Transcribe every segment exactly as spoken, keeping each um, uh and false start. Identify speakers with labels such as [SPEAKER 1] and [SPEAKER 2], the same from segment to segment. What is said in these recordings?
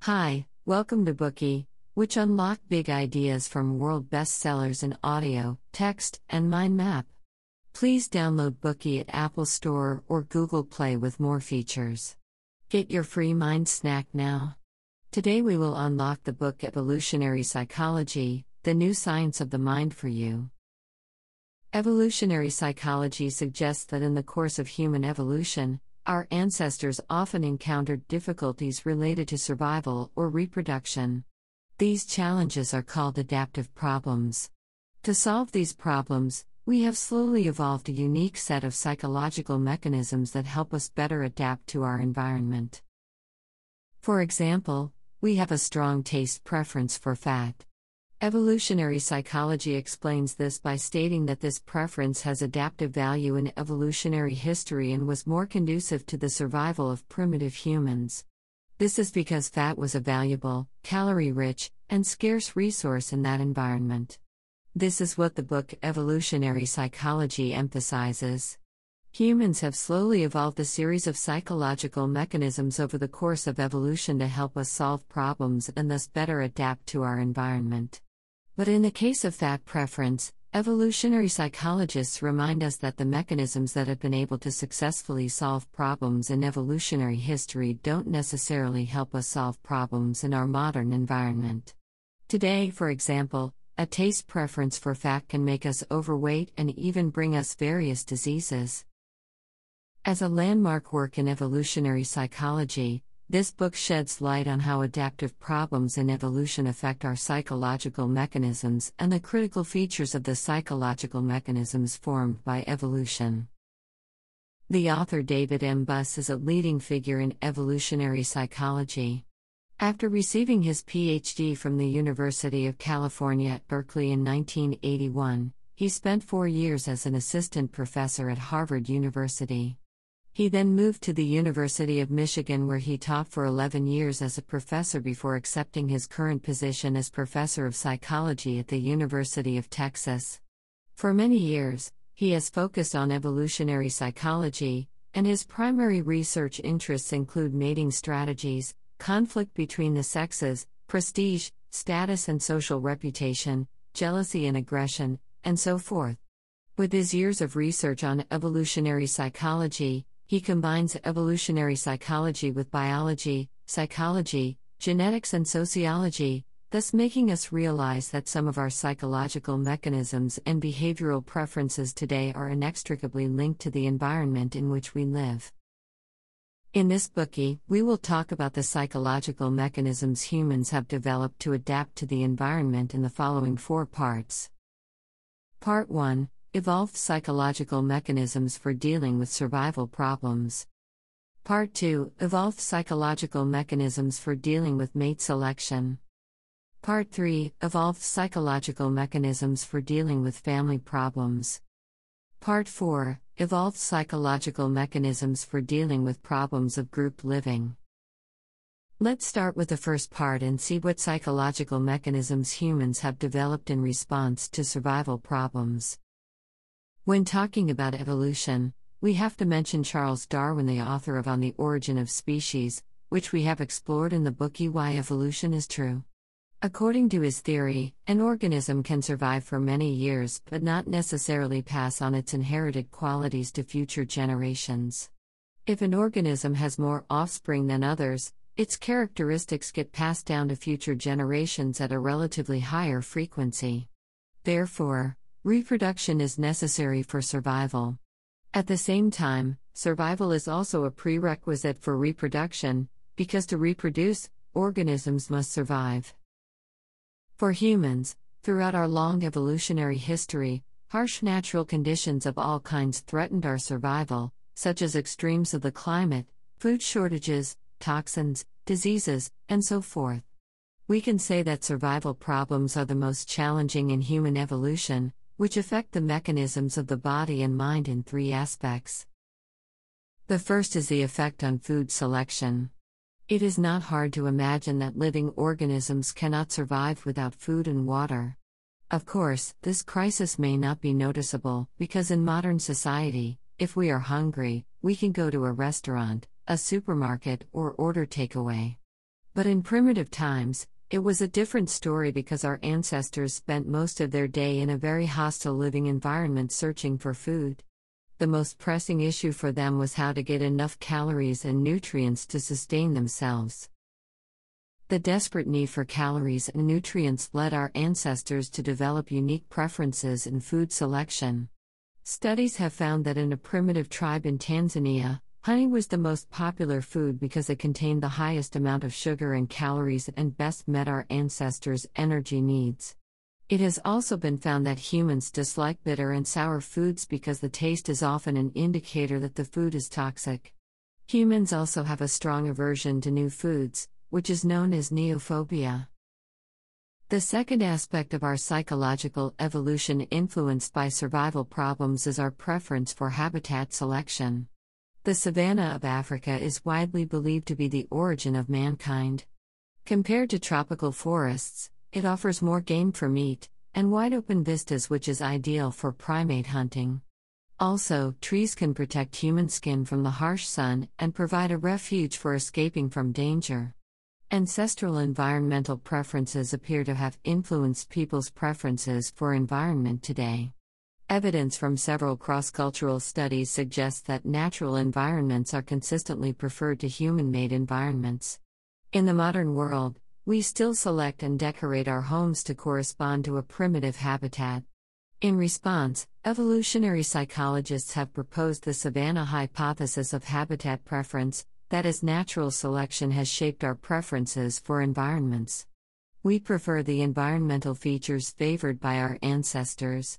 [SPEAKER 1] Hi, welcome to Bookey, which unlock big ideas from world bestsellers in audio, text, and mind map. Please download Bookey at Apple Store or Google Play with more features. Get your free mind snack now. Today we will unlock the book Evolutionary Psychology, the new science of the mind for you. Evolutionary psychology suggests that in the course of human evolution, our ancestors often encountered difficulties related to survival or reproduction. These challenges are called adaptive problems. To solve these problems, we have slowly evolved a unique set of psychological mechanisms that help us better adapt to our environment. For example, we have a strong taste preference for fat. Evolutionary psychology explains this by stating that this preference has adaptive value in evolutionary history and was more conducive to the survival of primitive humans. This is because fat was a valuable, calorie-rich, and scarce resource in that environment. This is what the book Evolutionary Psychology emphasizes. Humans have slowly evolved a series of psychological mechanisms over the course of evolution to help us solve problems and thus better adapt to our environment. But in the case of fat preference, evolutionary psychologists remind us that the mechanisms that have been able to successfully solve problems in evolutionary history don't necessarily help us solve problems in our modern environment. Today, for example, a taste preference for fat can make us overweight and even bring us various diseases. As a landmark work in evolutionary psychology, this book sheds light on how adaptive problems in evolution affect our psychological mechanisms and the critical features of the psychological mechanisms formed by evolution. The author David M. Buss is a leading figure in evolutionary psychology. After receiving his P H D from the University of California at Berkeley in nineteen eighty-one, he spent four years as an assistant professor at Harvard University. He then moved to the University of Michigan, where he taught for eleven years as a professor before accepting his current position as professor of psychology at the University of Texas. For many years, he has focused on evolutionary psychology, and his primary research interests include mating strategies, conflict between the sexes, prestige, status and social reputation, jealousy and aggression, and so forth. With his years of research on evolutionary psychology, he combines evolutionary psychology with biology, psychology, genetics and sociology, thus making us realize that some of our psychological mechanisms and behavioral preferences today are inextricably linked to the environment in which we live. In this Bookey, we will talk about the psychological mechanisms humans have developed to adapt to the environment in the following four parts. Part one. Evolved psychological mechanisms for dealing with survival problems. Part two. Evolved psychological mechanisms for dealing with mate selection. Part three. Evolved psychological mechanisms for dealing with family problems. Part four. Evolved psychological mechanisms for dealing with problems of group living. Let's start with the first part and see what psychological mechanisms humans have developed in response to survival problems. When talking about evolution, we have to mention Charles Darwin, the author of On the Origin of Species, which we have explored in the Bookey Why Evolution is True. According to his theory, an organism can survive for many years but not necessarily pass on its inherited qualities to future generations. If an organism has more offspring than others, its characteristics get passed down to future generations at a relatively higher frequency. Therefore, reproduction is necessary for survival. At the same time, survival is also a prerequisite for reproduction, because to reproduce, organisms must survive. For humans, throughout our long evolutionary history, harsh natural conditions of all kinds threatened our survival, such as extremes of the climate, food shortages, toxins, diseases, and so forth. We can say that survival problems are the most challenging in human evolution, which affect the mechanisms of the body and mind in three aspects. The first is the effect on food selection. It is not hard to imagine that living organisms cannot survive without food and water. Of course, this crisis may not be noticeable, because in modern society, if we are hungry, we can go to a restaurant, a supermarket, or order takeaway. But in primitive times, it was a different story because our ancestors spent most of their day in a very hostile living environment searching for food. The most pressing issue for them was how to get enough calories and nutrients to sustain themselves. The desperate need for calories and nutrients led our ancestors to develop unique preferences in food selection. Studies have found that in a primitive tribe in Tanzania, honey was the most popular food because it contained the highest amount of sugar and calories and best met our ancestors' energy needs. It has also been found that humans dislike bitter and sour foods because the taste is often an indicator that the food is toxic. Humans also have a strong aversion to new foods, which is known as neophobia. The second aspect of our psychological evolution influenced by survival problems is our preference for habitat selection. The savanna of Africa is widely believed to be the origin of mankind. Compared to tropical forests, it offers more game for meat, and wide-open vistas which is ideal for primate hunting. Also, trees can protect human skin from the harsh sun and provide a refuge for escaping from danger. Ancestral environmental preferences appear to have influenced people's preferences for environment today. Evidence from several cross-cultural studies suggests that natural environments are consistently preferred to human-made environments. In the modern world, we still select and decorate our homes to correspond to a primitive habitat. In response, evolutionary psychologists have proposed the savanna hypothesis of habitat preference, that is, natural selection has shaped our preferences for environments. We prefer the environmental features favored by our ancestors.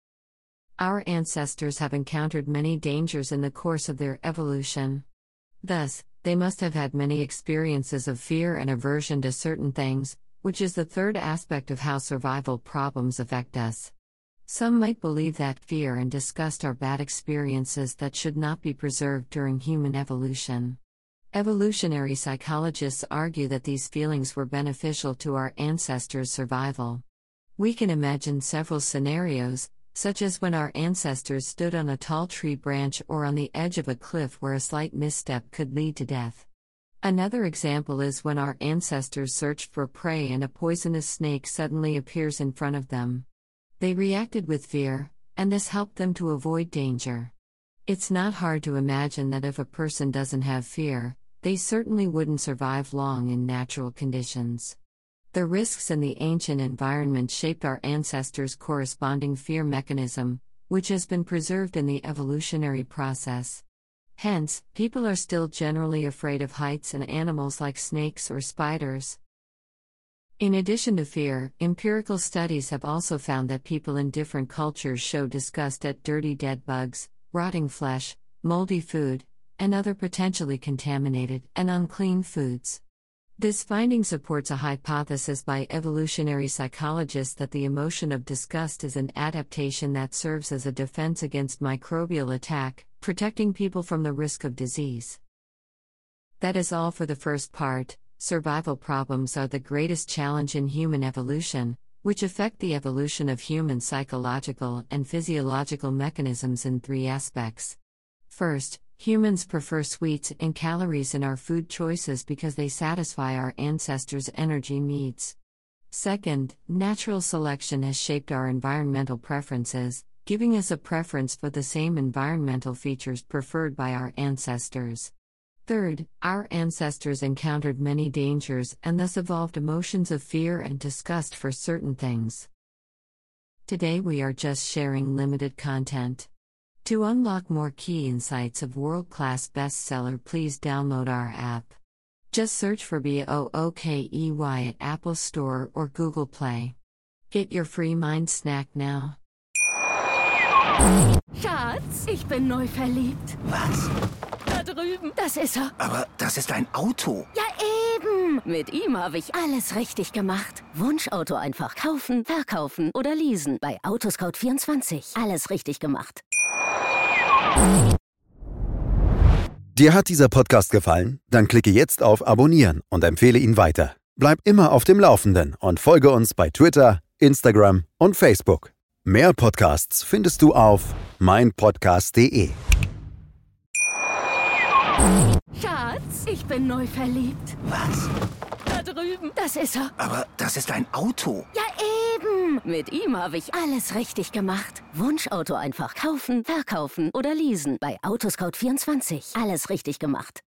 [SPEAKER 1] Our ancestors have encountered many dangers in the course of their evolution. Thus, they must have had many experiences of fear and aversion to certain things, which is the third aspect of how survival problems affect us. Some might believe that fear and disgust are bad experiences that should not be preserved during human evolution. Evolutionary psychologists argue that these feelings were beneficial to our ancestors' survival. We can imagine several scenarios, such as when our ancestors stood on a tall tree branch or on the edge of a cliff where a slight misstep could lead to death. Another example is when our ancestors searched for prey and a poisonous snake suddenly appears in front of them. They reacted with fear, and this helped them to avoid danger. It's not hard to imagine that if a person doesn't have fear, they certainly wouldn't survive long in natural conditions. The risks in the ancient environment shaped our ancestors' corresponding fear mechanism, which has been preserved in the evolutionary process. Hence, people are still generally afraid of heights and animals like snakes or spiders. In addition to fear, empirical studies have also found that people in different cultures show disgust at dirty dead bugs, rotting flesh, moldy food, and other potentially contaminated and unclean foods. This finding supports a hypothesis by evolutionary psychologists that the emotion of disgust is an adaptation that serves as a defense against microbial attack, protecting people from the risk of disease. That is all for the first part. Survival problems are the greatest challenge in human evolution, which affect the evolution of human psychological and physiological mechanisms in three aspects. First, humans prefer sweets and calories in our food choices because they satisfy our ancestors' energy needs. Second, natural selection has shaped our environmental preferences, giving us a preference for the same environmental features preferred by our ancestors. Third, our ancestors encountered many dangers and thus evolved emotions of fear and disgust for certain things. Today we are just sharing limited content. To unlock more key insights of world-class bestseller, please download our app. Just search for Bookey at Apple Store or Google Play. Get your free mind snack now.
[SPEAKER 2] Schatz, ich bin neu verliebt.
[SPEAKER 3] Was?
[SPEAKER 2] Da drüben. Das ist er.
[SPEAKER 3] Aber das ist ein Auto.
[SPEAKER 2] Ja, eben. Mit ihm habe ich alles richtig gemacht. Wunschauto einfach kaufen, verkaufen oder leasen. Bei Autoscout vierundzwanzig. Alles richtig gemacht.
[SPEAKER 4] Dir hat dieser Podcast gefallen? Dann klicke jetzt auf Abonnieren und empfehle ihn weiter. Bleib immer auf dem Laufenden und folge uns bei Twitter, Instagram und Facebook. Mehr Podcasts findest du auf mein podcast punkt de.
[SPEAKER 2] Schatz, ich bin neu verliebt.
[SPEAKER 3] Was?
[SPEAKER 2] Da drüben. Das ist er.
[SPEAKER 3] Aber das ist ein Auto.
[SPEAKER 2] Ja, eben. Mit ihm habe ich alles richtig gemacht. Wunschauto einfach kaufen, verkaufen oder leasen. Bei Autoscout vierundzwanzig. Alles richtig gemacht.